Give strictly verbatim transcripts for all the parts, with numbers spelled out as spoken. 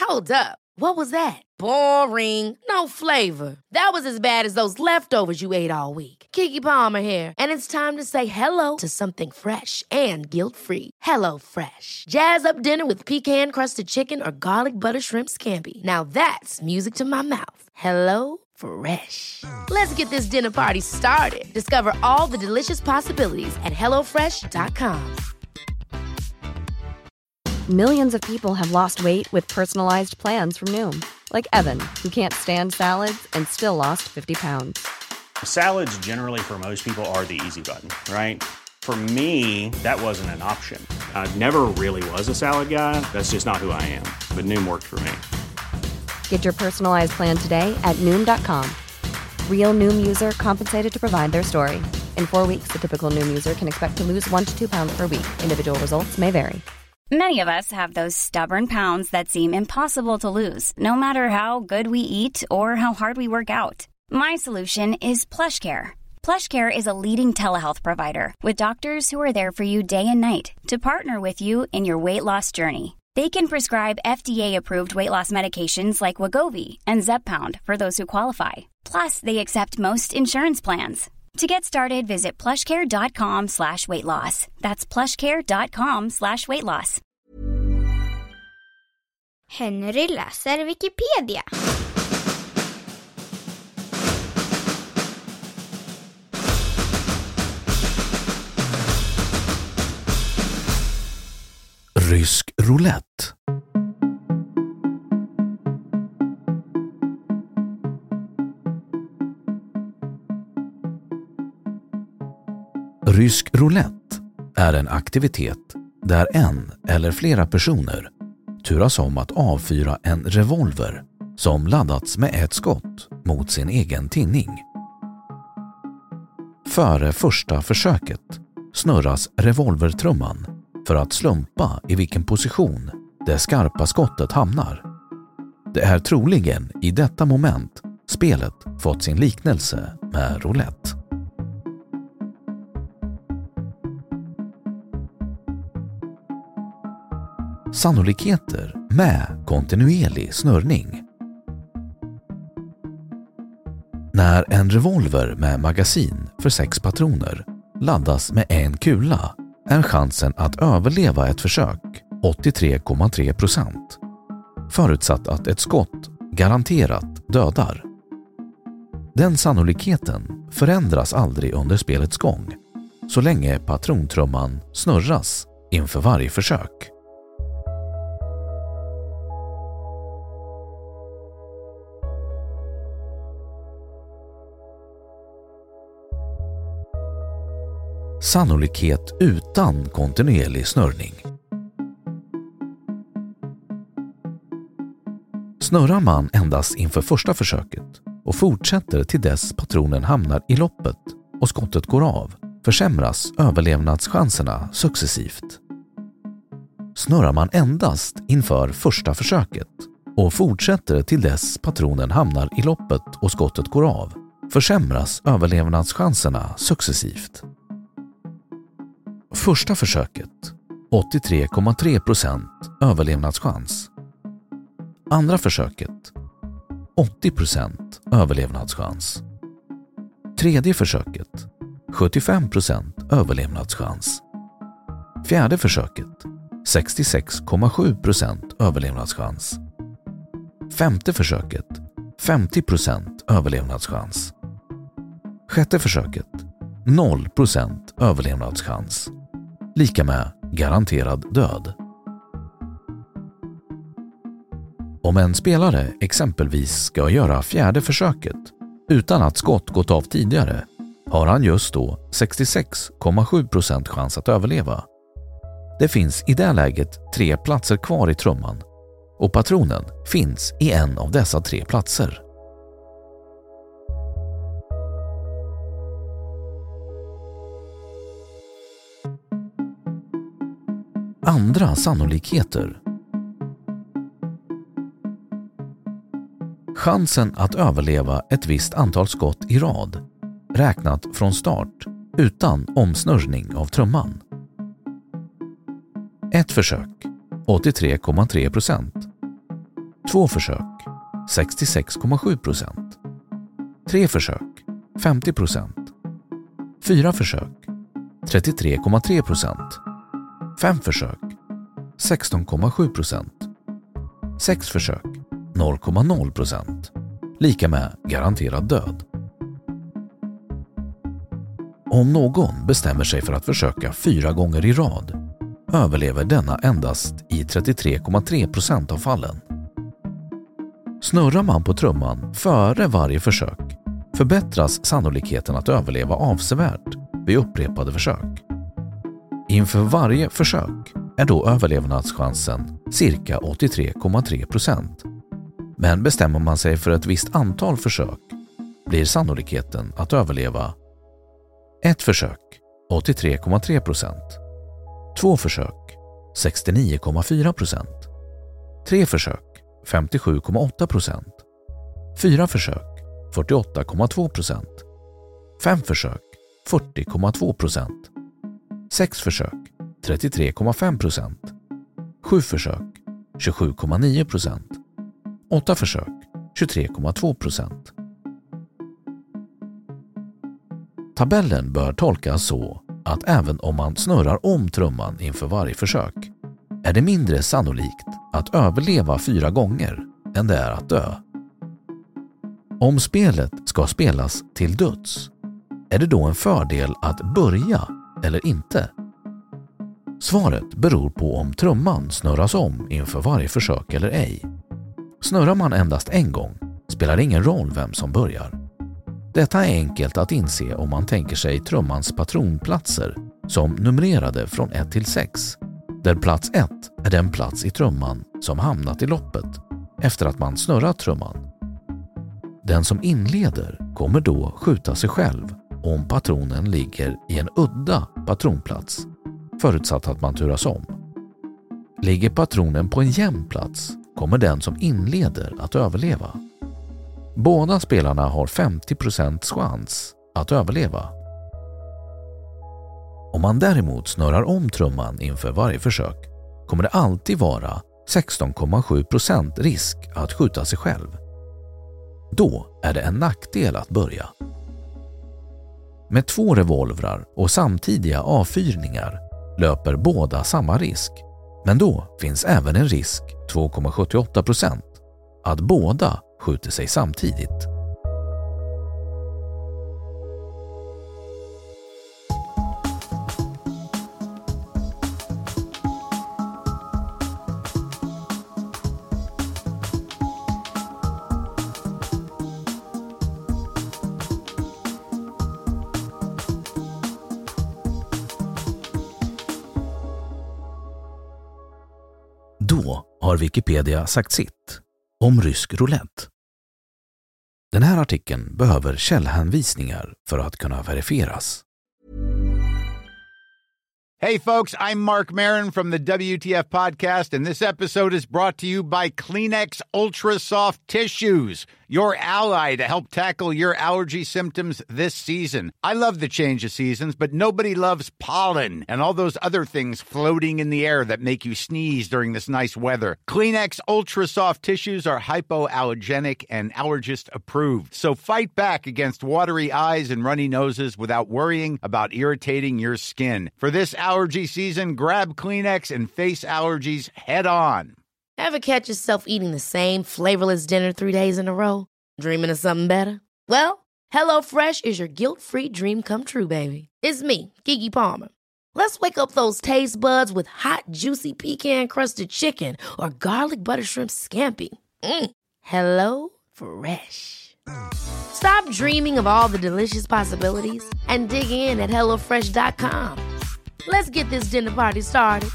Hold up. What was that? Boring. No flavor. That was as bad as those leftovers you ate all week. Keke Palmer here, and it's time to say hello to something fresh and guilt-free. Hello Fresh. Jazz up dinner with pecan-crusted chicken or garlic butter shrimp scampi. Now that's music to my mouth. Hello Fresh. Let's get this dinner party started. Discover all the delicious possibilities at hello fresh dot com. Millions of people have lost weight with personalized plans from Noom. Like Evan, who can't stand salads and still lost fifty pounds. Salads generally for most people are the easy button, right? For me, that wasn't an option. I never really was a salad guy. That's just not who I am. But Noom worked for me. Get your personalized plan today at Noom dot com. Real Noom user compensated to provide their story. In four weeks, the typical Noom user can expect to lose one to two pounds per week. Individual results may vary. Many of us have those stubborn pounds that seem impossible to lose, no matter how good we eat or how hard we work out. My solution is PlushCare. PlushCare is a leading telehealth provider with doctors who are there for you day and night to partner with you in your weight loss journey. They can prescribe F D A-approved weight loss medications like Wegovy and Zepbound for those who qualify. Plus, they accept most insurance plans. To get started, visit plushcare.com slash weight loss. That's plushcare.com slash weight loss. Henry läser Wikipedia. Rysk roulette. Rysk roulette är en aktivitet där en eller flera personer turas om att avfyra en revolver som laddats med ett skott mot sin egen tinning. Före första försöket snurras revolvertrumman för att slumpa i vilken position det skarpa skottet hamnar. Det är troligen i detta moment spelet fått sin liknelse med roulette. Sannolikheter med kontinuerlig snurrning. När en revolver med magasin för sex patroner laddas med en kula är chansen att överleva ett försök åttiotre komma tre procent, förutsatt att ett skott garanterat dödar. Den sannolikheten förändras aldrig under spelets gång, så länge patrontrumman snurras inför varje försök. Sannolikhet utan kontinuerlig snurrning. Snurrar man endast inför första försöket och fortsätter till dess patronen hamnar i loppet och skottet går av, försämras överlevnadschanserna successivt. Snurrar man endast inför första försöket och fortsätter till dess patronen hamnar i loppet och skottet går av, försämras överlevnadschanserna successivt. Första försöket åttiotre komma tre procent överlevnadschans. Andra försöket åttio procent överlevnadschans. Tredje försöket sjuttiofem procent överlevnadschans. Fjärde försöket sextiosex komma sju procent överlevnadschans. Femte försöket femtio procent överlevnadschans. Sjätte försöket noll procent överlevnadschans. Lika med garanterad död. Om en spelare exempelvis ska göra fjärde försöket utan att skott gått av tidigare har han just då sextiosex komma sju procent chans att överleva. Det finns i det läget tre platser kvar i trumman och patronen finns i en av dessa tre platser. Andra sannolikheter. Chansen att överleva ett visst antal skott i rad, räknat från start utan omsnurrning av trumman. Ett försök, åttiotre komma tre procent. Två försök, sextiosex komma sju procent. Tre försök, femtio procent. Fyra försök, trettiotre komma tre procent. Fem försök, sexton komma sju procent. Sex försök, noll komma noll procent. Lika med garanterad död. Om någon bestämmer sig för att försöka fyra gånger i rad överlever denna endast i trettiotre komma tre procent av fallen. Snurrar man på trumman före varje försök förbättras sannolikheten att överleva avsevärt vid upprepade försök. Inför varje försök är då överlevnadschansen cirka åttiotre komma tre procent. Men bestämmer man sig för ett visst antal försök blir sannolikheten att överleva ett försök, åttiotre komma tre procent. Två försök, sextionio komma fyra procent. Tre försök, femtiosju komma åtta procent. Fyra försök, fyrtioåtta komma två procent. Fem försök, fyrtio komma två procent. Sex försök, trettiotre komma fem procent. Sju försök, tjugosju komma nio procent. Åtta försök, tjugotre komma två procent. Tabellen bör tolkas så att även om man snurrar om trumman inför varje försök är det mindre sannolikt att överleva fyra gånger än det är att dö. Om spelet ska spelas till döds är det då en fördel att börja eller inte? Svaret beror på om trumman snurras om inför varje försök eller ej. Snurrar man endast en gång spelar det ingen roll vem som börjar. Detta är enkelt att inse om man tänker sig trummans patronplatser som numrerade från ett till sex, där plats ett är den plats i trumman som hamnat i loppet efter att man snurrat trumman. Den som inleder kommer då skjuta sig själv om patronen ligger i en udda patronplats, förutsatt att man turas om. Ligger patronen på en jämn plats kommer den som inleder att överleva. Båda spelarna har femtio procent chans att överleva. Om man däremot snurrar om trumman inför varje försök kommer det alltid vara sexton komma sju procent risk att skjuta sig själv. Då är det en nackdel att börja. Med två revolvrar och samtidiga avfyrningar löper båda samma risk, men då finns även en risk två komma sjuttioåtta procent att båda skjuter sig samtidigt. Då har Wikipedia sagt sitt om rysk roulette. Den här artikeln behöver källhänvisningar för att kunna verifieras. Hey folks, I'm Mark Maron from the W T F podcast, and this episode is brought to you by Kleenex Ultra Soft Tissues, your ally to help tackle your allergy symptoms this season. I love the change of seasons, but nobody loves pollen and all those other things floating in the air that make you sneeze during this nice weather. Kleenex Ultra Soft Tissues are hypoallergenic and allergist approved, so fight back against watery eyes and runny noses without worrying about irritating your skin. For this allergy season, grab Kleenex and face allergies head on. Ever catch yourself eating the same flavorless dinner three days in a row? Dreaming of something better? Well, HelloFresh is your guilt-free dream come true, baby. It's me, Keke Palmer. Let's wake up those taste buds with hot, juicy pecan-crusted chicken or garlic butter shrimp scampi. Mm. Hello Fresh. Stop dreaming of all the delicious possibilities and dig in at hello fresh dot com. Let's get this dinner party started.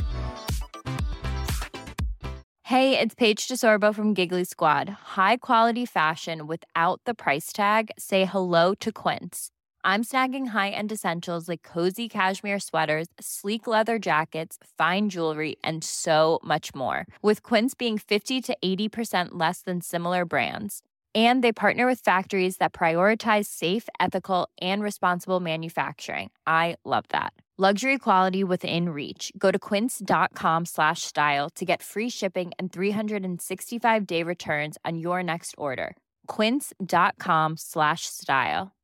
Hey, it's Paige DeSorbo from Giggly Squad. High quality fashion without the price tag. Say hello to Quince. I'm snagging high-end essentials like cozy cashmere sweaters, sleek leather jackets, fine jewelry, and so much more. With Quince being fifty to eighty percent less than similar brands. And they partner with factories that prioritize safe, ethical, and responsible manufacturing. I love that. Luxury quality within reach. Go to quince.com slash style to get free shipping and three sixty-five day returns on your next order. Quince.com slash style.